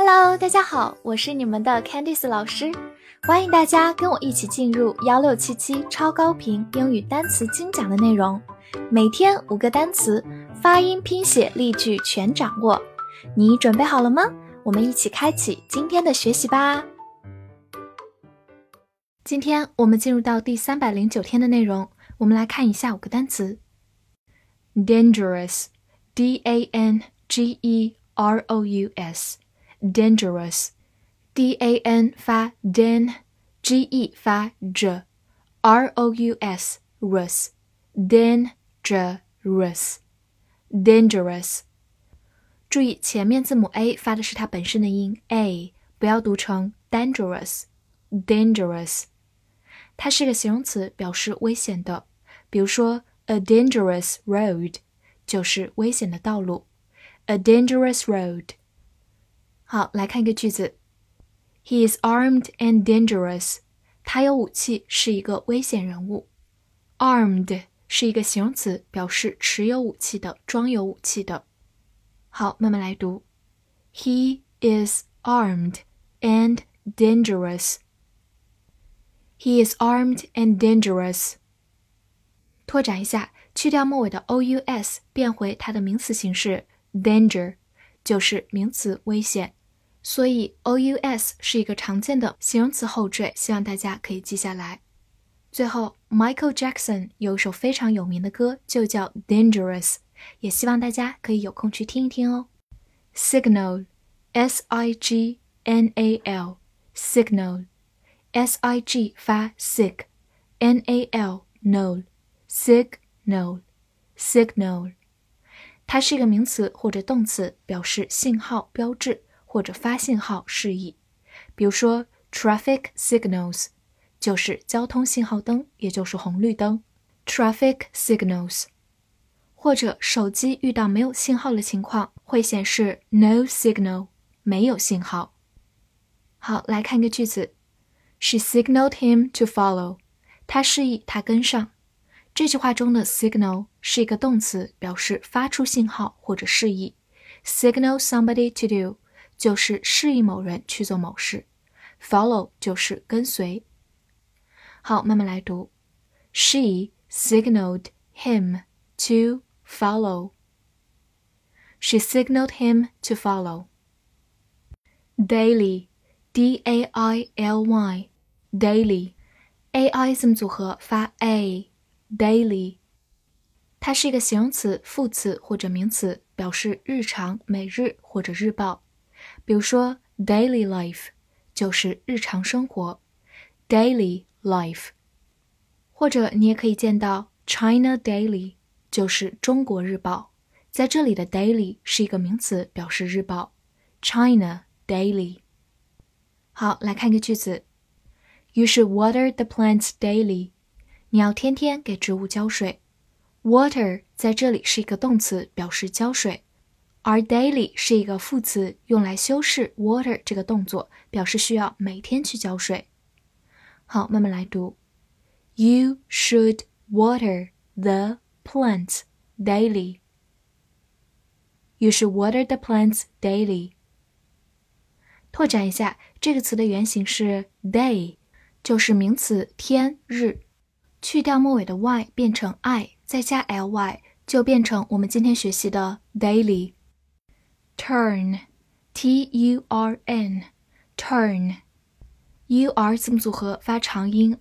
Hello， 大家好，我是你们的 Candice 老师，欢迎大家跟我一起进入1677超高频英语单词精讲的内容，每天5个单词，发音、拼写、例句全掌握。你准备好了吗？我们一起开启今天的学习吧。今天我们进入到第309天的内容，我们来看一下5个单词。Dangerous, D-A-N-G-E-R-O-U-S Dangerous, D-A-N 发 dan, G-E 发 j, R-O-U-S, rus, dangerous, dangerous。注意前面字母 A 发的是它本身的音 A， 不要读成 dangerous, dangerous。它是个形容词，表示危险的，比如说 a dangerous road 就是危险的道路 ，a dangerous road。好，来看一个句子 He is armed and dangerous. 他有武器，是一个危险人物。Armed 是一个形容词，表示持有武器的，装有武器的。好，慢慢来读 He is armed and dangerous. He is armed and dangerous. 拓展一下，去掉末尾的 OUS 变回它的名词形式 danger 就是名词危险，所以 OUS 是一个常见的形容词后缀，希望大家可以记下来。最后 Michael Jackson 有一首非常有名的歌就叫 Dangerous， 也希望大家可以有空去听一听哦。 Signal S-I-G-N-A-L Signal S-I-G 发 sig N-A-L No Signal Signal 它是一个名词或者动词，表示信号、标志或者发信号示意。比如说 traffic signals 就是交通信号灯，也就是红绿灯 traffic signals。 或者手机遇到没有信号的情况会显示 no signal 没有信号。好，来看一个句子 She signaled him to follow 她示意他跟上。这句话中的 signal 是一个动词，表示发出信号或者示意。Signal somebody to do 就是示意某人去做某事。Follow 就是跟随。好，慢慢来读。She signaled him to follow. She signaled him to follow. Daily, D-A-I-L-Y, daily. A-I 字母组合发 A, daily。它是一个形容词、副词或者名词，表示日常、每日或者日报。比如说 daily life 就是日常生活 daily life。 或者你也可以见到 China Daily 就是中国日报，在这里的 daily 是一个名词，表示日报 China Daily。 好，来看一个句子 You should water the plants daily. 你要天天给植物浇水。Water 在这里是一个动词，表示浇水，而 daily 是一个副词，用来修饰 water 这个动作，表示需要每天去浇水。好，慢慢来读 You should water the plants daily. You should water the plants daily. 拓展一下，这个词的原型是 day， 就是名词天、日，去掉末尾的 y 变成 i， 再加 ly 就变成我们今天学习的 daily。 Turn T-U-R-N Turn U-R 字母组合发长音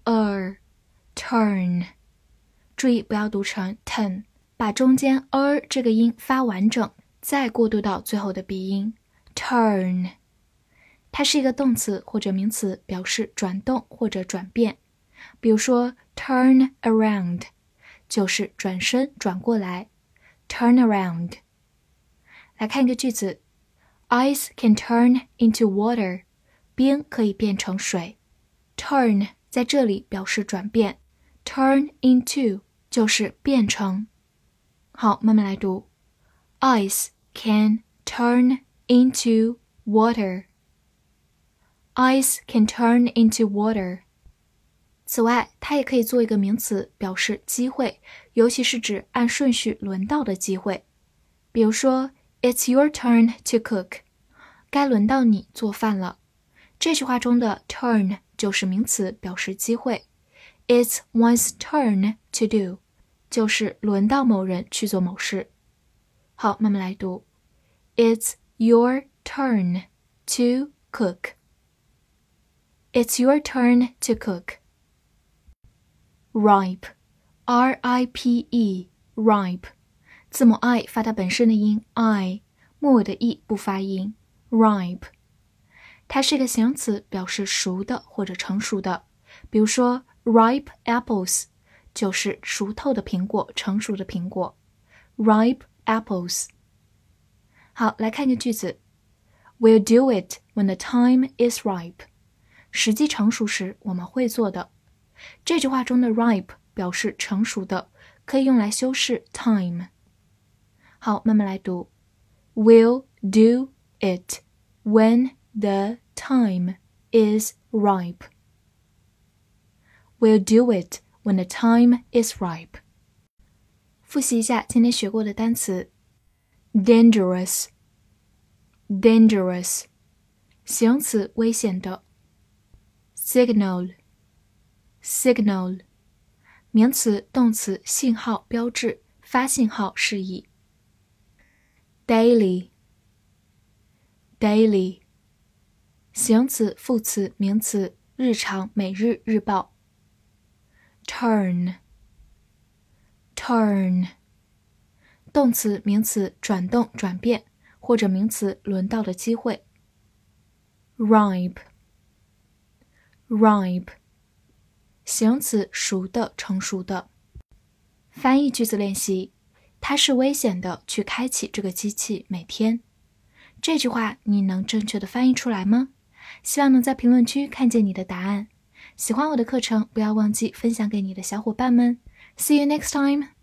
turn 注意不要读成 ten， 把中间这个音发完整，再过渡到最后的鼻音 turn。 它是一个动词或者名词，表示转动或者转变。比如说 turn around 就是转身转过来 turn around。 来看一个句子 Ice can turn into water. 冰可以变成水。 turn 在这里表示转变， turn into 就是变成。好，慢慢来读 Ice can turn into water. Ice can turn into water. 此外，它也可以做一个名词，表示机会，尤其是指按顺序轮到的机会。比如说 It's your turn to cook. 该轮到你做饭了。这句话中的 turn 就是名词，表示机会。It's one's turn to do， 就是轮到某人去做某事。好，慢慢来读。It's your turn to cook. It's your turn to cook. Ripe, R-I-P-E, ripe. 字母 I 发它本身的音 I， 末尾的 E 不发音 ripe。 它是一个形容词，表示熟的或者成熟的。比如说 ripe apples 就是熟透的苹果，成熟的苹果 ripe apples。 好，来看一个句子 We'll do it when the time is ripe. 时机成熟时我们会做的。这句话中的 ripe 表示成熟的，可以用来修饰 time。 好，慢慢来读 We'll do it when the time is ripe. We'll do it when the time is ripe. 复习一下今天学过的单词 Dangerous, dangerous 形容词，危险的。 Signal, signal 名词、动词，信号、标志，发信号示意。Daily, daily 形容词、副词、名词，日常、每日、日报。Turn, turn 动词、名词，转动、转变，或者名词，轮到的机会。Ripe, ripe 形容词，熟的、成熟的。翻译句子练习，它是危险的去开启这个机器每天。这句话你能正确的翻译出来吗？希望能在评论区看见你的答案。喜欢我的课程，不要忘记分享给你的小伙伴们。See you next time!